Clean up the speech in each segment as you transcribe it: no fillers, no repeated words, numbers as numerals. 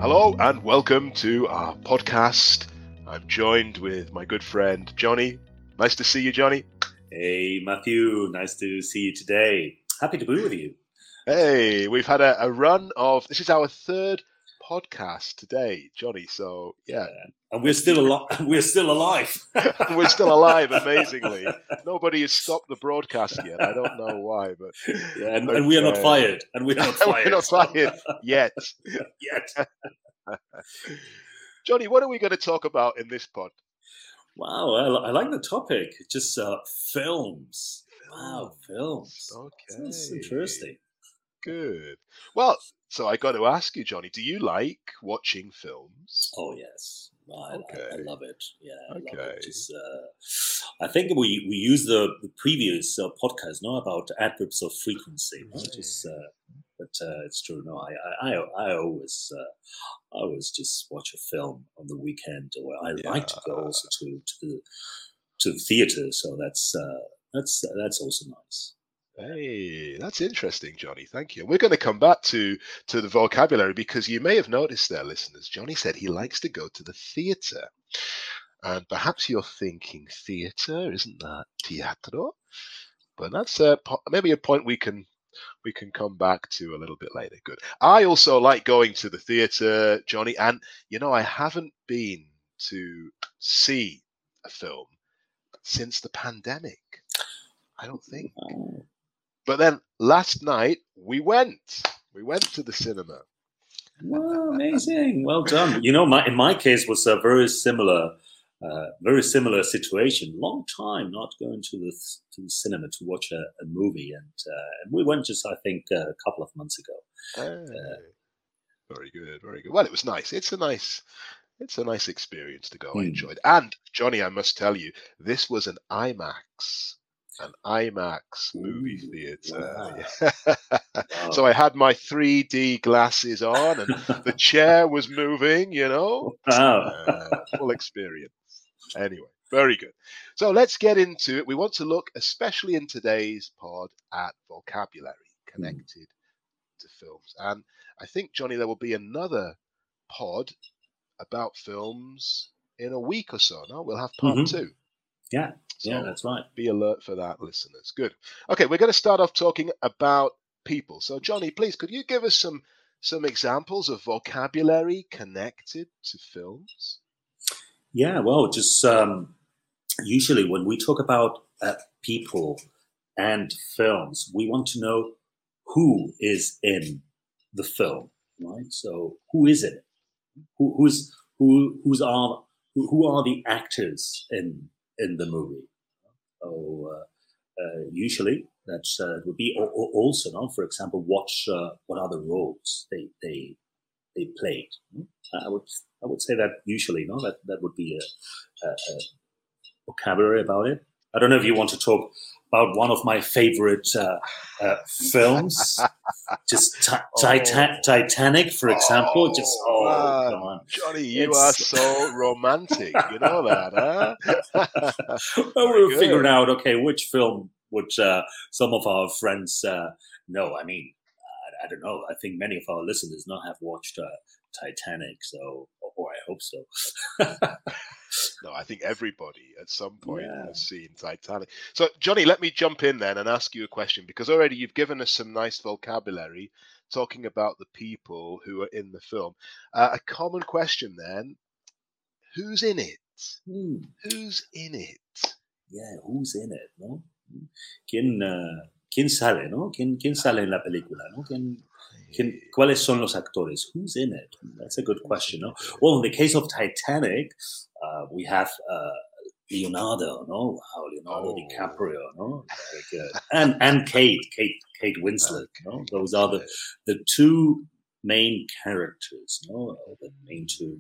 Hello and welcome to our podcast. I'm joined with my good friend Johnny. Nice to see you, Johnny. Hey, Matthew. Nice to see you today. Happy to be with you. Hey, we've had a run of, this is our third podcast today, Johnny. So, yeah. And we're still alive. We're still alive. We're still alive, amazingly. Nobody has stopped the broadcast yet. I don't know why, but... Yeah, and we are not fired. And we're not fired. We're not fired yet. Yet. Johnny, what are we going to talk about in this pod? Wow, I like the topic. Just films. Wow, films. Okay. That's interesting. Good. Well, so I got to ask you, Johnny, do you like watching films? Oh, yes. I love it. Yeah, I love it. Just, I think we used the previous podcast, about adverbs of frequency. But it's true. No, I always just watch a film on the weekend, or I like to go also to the theater. So that's also nice. Hey, that's interesting, Johnny. Thank you. We're going to come back to the vocabulary because you may have noticed there, listeners, Johnny said he likes to go to the theatre. And perhaps you're thinking, theatre, isn't that teatro? But that's maybe a point we can come back to a little bit later. Good. I also like going to the theatre, Johnny, and I haven't been to see a film since the pandemic. I don't think. Oh. But then last night we went to the cinema. Wow, amazing! Well done. In my case was a very similar situation. Long time not going to the cinema to watch a movie, and we went just, I think, a couple of months ago. Very good, very good. Well, it was nice. It's a nice experience to go. I enjoyed. And Johnny, I must tell you, this was an IMAX movie theater. Wow. Wow. So I had my 3D glasses on, and the chair was moving. Wow. Full experience. Anyway, very good. So let's get into it. We want to look, especially in today's pod, at vocabulary connected to films. And I think, Johnny, there will be another pod about films in a week or so. No, we'll have part two. Yeah, so that's right. Be alert for that, listeners. Good. Okay, we're going to start off talking about people. So, Johnny, please, could you give us some examples of vocabulary connected to films? Yeah, well, just usually when we talk about people and films, we want to know who is in the film, right? So, who is it? Who are the actors in the movie? So usually that's would be also, for example, watch what are the roles they played. I would say that usually, that would be a vocabulary about it. I don't know if you want to talk about one of my favorite films, just Titanic, for example. Come on, Johnny, you are so romantic. You know that, huh? Well, we're figuring out, which film would some of our friends know. I mean, I don't know. I think many of our listeners not have watched Titanic, or I hope so. No, I think everybody at some point has seen Titanic. So, Johnny, let me jump in then and ask you a question, because already you've given us some nice vocabulary talking about the people who are in the film. A common question then, who's in it? Who's in it? Yeah, who's in it, no? ¿Quién sale, no? ¿Quién sale en la película, no? ¿Cuáles son los actores? Who's in it? That's a good question, no? Well, in the case of Titanic, we have Leonardo, no? Leonardo DiCaprio, no? And Kate Winslet, no? Those are the two main characters, no? The main two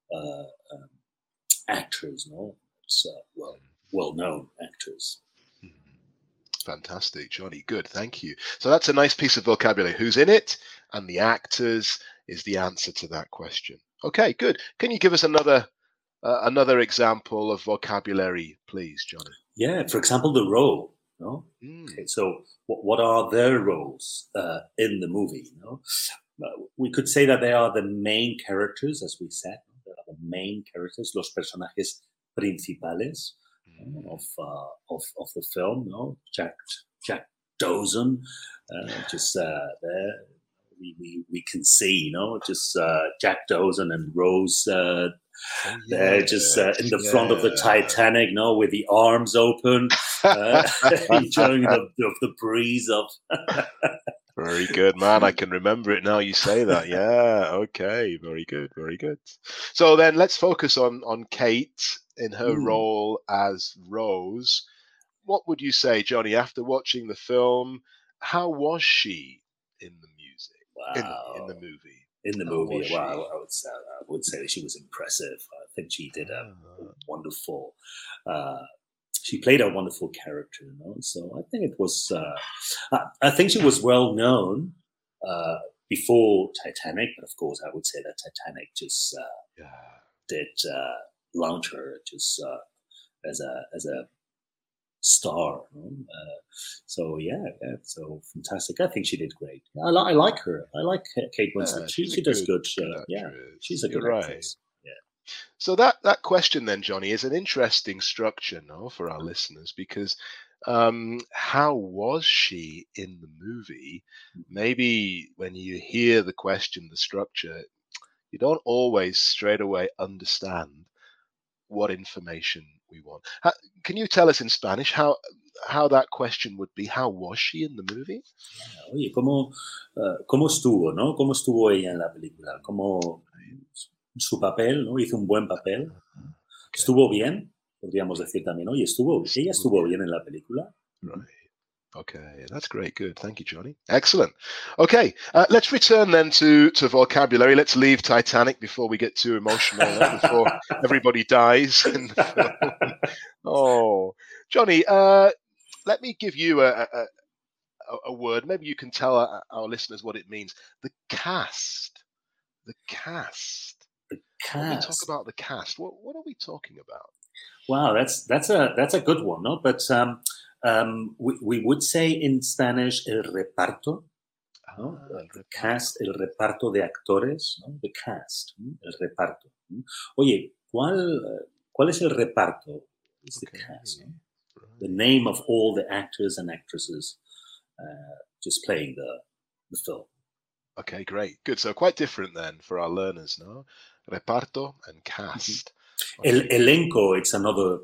actors, no? It's well-known actors. Fantastic, Johnny. Good, thank you. So that's a nice piece of vocabulary. Who's in it? And the actors is the answer to that question. Okay, good. Can you give us another example of vocabulary, please, Johnny? Yeah, for example, the role. No? Okay, so what are their roles in the movie? No? we could say that they are the main characters, as we said. They are the main characters, los personajes principales of the film. No, Jack Dawson, just there. We can see, just Jack Dawson and Rose they're just in the front of the Titanic, with the arms open, enjoying the breeze of. Very good, man. I can remember it now you say that. Yeah, okay. Very good, very good. So then let's focus on Kate in her role as Rose. What would you say, Johnny, after watching the film, how was she in the music? Wow. In the movie. In the movie, wow, I would say that she was impressive. I think she did a wonderful. She played a wonderful character, So I think it was. I think she was well known before Titanic, but of course, I would say that Titanic just did launch her just as a star. So so fantastic. I think she did great. I like her. I like Kate Winslet. She does good. She's a good actress. Yeah. So that question then, Johnny, is an interesting structure, for our listeners, because how was she in the movie? Maybe when you hear the question, the structure, you don't always straight away understand what information we want. Can you tell us in Spanish how that question would be? How was she in the movie? Oye, ¿cómo estuvo, no? ¿Cómo estuvo ella en la película? ¿Cómo su papel, no? Hizo un buen papel. Okay. ¿Estuvo bien? Podríamos decir también, oye, ella estuvo bien en la película. Right. Okay, that's great. Good. Thank you, Johnny. Excellent. Okay, let's return then to vocabulary. Let's leave Titanic before we get too emotional, before everybody dies in the film. Oh, Johnny, let me give you a word. Maybe you can tell our listeners what it means. The cast. The cast. The cast. When we talk about the cast, what are we talking about? Wow, that's a good one, no? But we would say in Spanish el reparto, ¿no? The cast, el reparto de actores, ¿no? The cast, el reparto. Oye, ¿cuál es el reparto? It's the cast, ¿no? Right. The name of all the actors and actresses just playing the film. Okay, great, good. So quite different then for our learners, no? Reparto and cast. Okay. El elenco, it's another.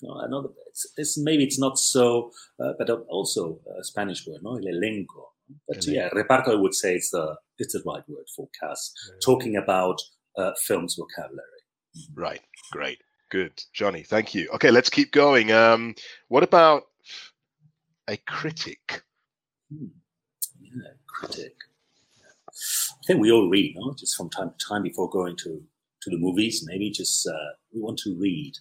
Maybe it's not so, but also a Spanish word, no? El elenco. But reparto, I would say it's the right word for cast. Yeah. Talking about film's vocabulary. Right. Great. Good, Johnny. Thank you. Okay, let's keep going. What about a critic? Yeah, critic. I think we all read, no? Just from time to time before going to the movies. Maybe just we want to read.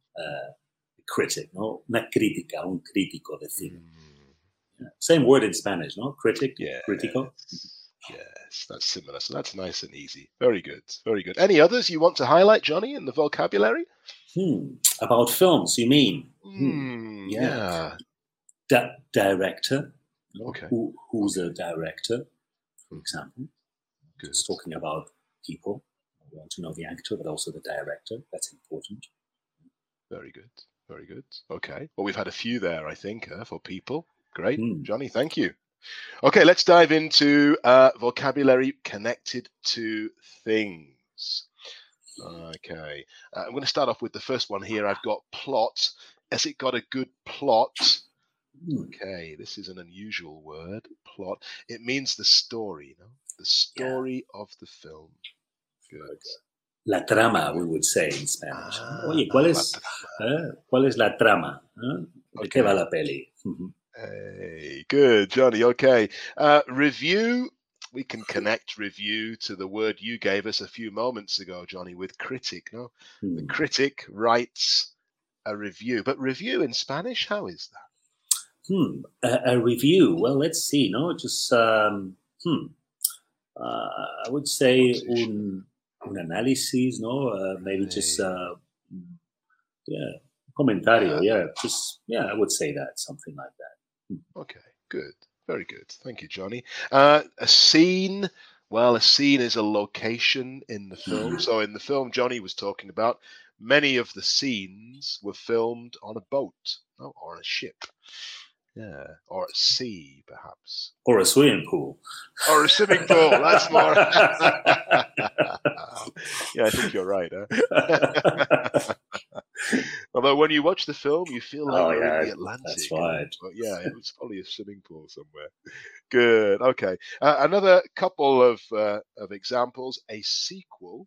Critic, no? Una crítica, un crítico, decir. Same word in Spanish, no? Critic, crítico. Yes, that's similar. So that's nice and easy. Very good, very good. Any others you want to highlight, Johnny, in the vocabulary? About films, you mean? Yeah. Director. Okay. Who's a director, for example? Good. Just talking about people. We want to know the actor, but also the director. That's important. Very good. Very good. Okay. Well, we've had a few there, I think, for people. Great. Johnny, thank you. Okay, let's dive into vocabulary connected to things. Okay. I'm going to start off with the first one here. I've got plot. Has it got a good plot? Okay, this is an unusual word, plot. It means the story, the story of the film. Good. La trama, we would say in Spanish. Oye, ¿cuál es la trama? ¿De qué va la peli? Hey, good, Johnny. Okay. Review. We can connect review to the word you gave us a few moments ago, Johnny, with critic, no? The critic writes a review. But review in Spanish, how is that? A review. Well, let's see, no? Just, I would say un análisis, no? Maybe just, comentario, I would say that, something like that. Okay, good. Very good. Thank you, Johnny. A scene Well, a scene is a location in the film. So in the film Johnny was talking about, many of the scenes were filmed on a boat, or on a ship. Yeah, or at sea, perhaps. Or a swimming pool. Or a swimming pool. That's more. Yeah, I think you're right. Huh? Although when you watch the film, you feel like you're in the Atlantic. That's right. But yeah, it was probably a swimming pool somewhere. Good. Okay. Another couple of examples. A sequel.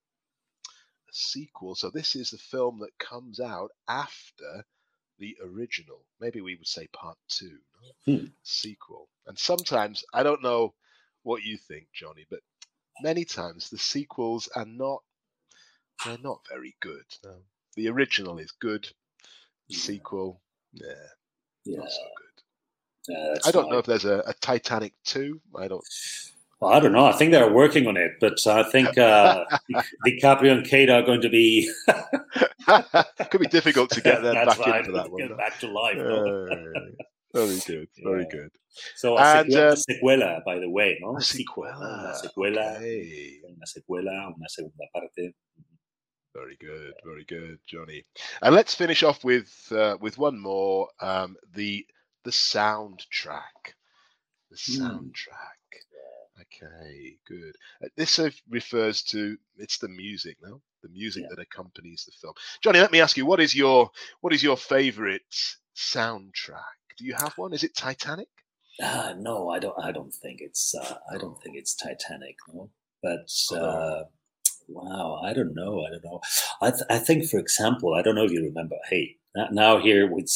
So this is the film that comes out after the original. Maybe we would say part 2. Sequel. And sometimes, I don't know what you think, Johnny, but many times the sequels are not very good. No. The original is good. The sequel, not so good. I don't know if there's a Titanic 2. Well, I don't know. I think they're working on it, but I think DiCaprio and Kate are going to be. Could be difficult to get them back into that one. Get back to life. Very good. Very good. So a secuela, by the way, no? A sequela. Una secuela. Okay. Una secuela. Una segunda parte. Very good. Very good, Johnny. And let's finish off with one more. The soundtrack. The soundtrack. Okay, good. This refers to, it's the music, no? The music that accompanies the film. Johnny, let me ask you, what is your favorite soundtrack? Do you have one? Is it Titanic? No, I don't think it's. I don't think it's Titanic. No, but wow, I don't know. I think, for example, I don't know if you remember. Hey, now here with.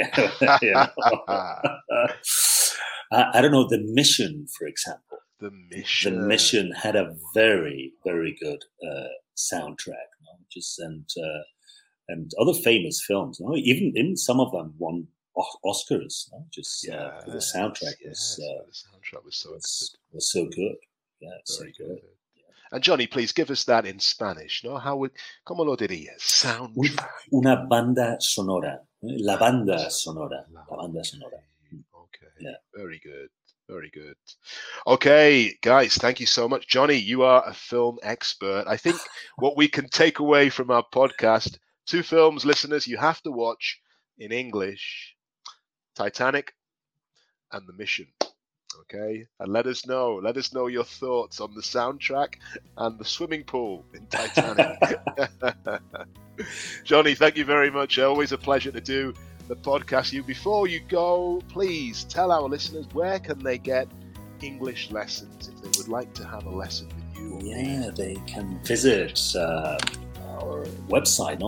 I don't know, The Mission, for example. The Mission. The Mission had a very, very good soundtrack, and other famous films. Even some of them won Oscars. For the soundtrack. The soundtrack was so good. Was so good. Yeah, very so good. And Johnny, please give us that in Spanish. ¿No? ¿Cómo lo dirías? Soundtrack. Una banda sonora. La banda sonora. La banda sonora. Okay. Yeah. Very good. Very good. Okay, guys, thank you so much. Johnny, you are a film expert. I think what we can take away from our podcast, 2 films, listeners, you have to watch in English, Titanic and The Mission. Okay, and let us know your thoughts on the soundtrack and the swimming pool in Titanic. Johnny, thank you very much. Always a pleasure to do the podcast. Before you go, please tell our listeners, where can they get English lessons if they would like to have a lesson with you? Yeah, they can visit our website,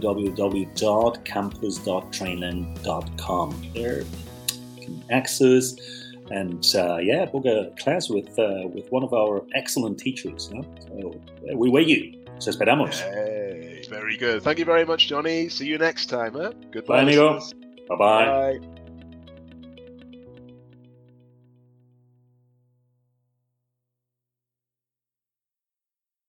www.campus.trainland.com. There you can access and book a class with one of our excellent teachers. So we wait you. Os esperamos. Hey, very good. Thank you very much, Johnny. See you next time. Goodbye. Bye, amigo. Bye-bye. Bye.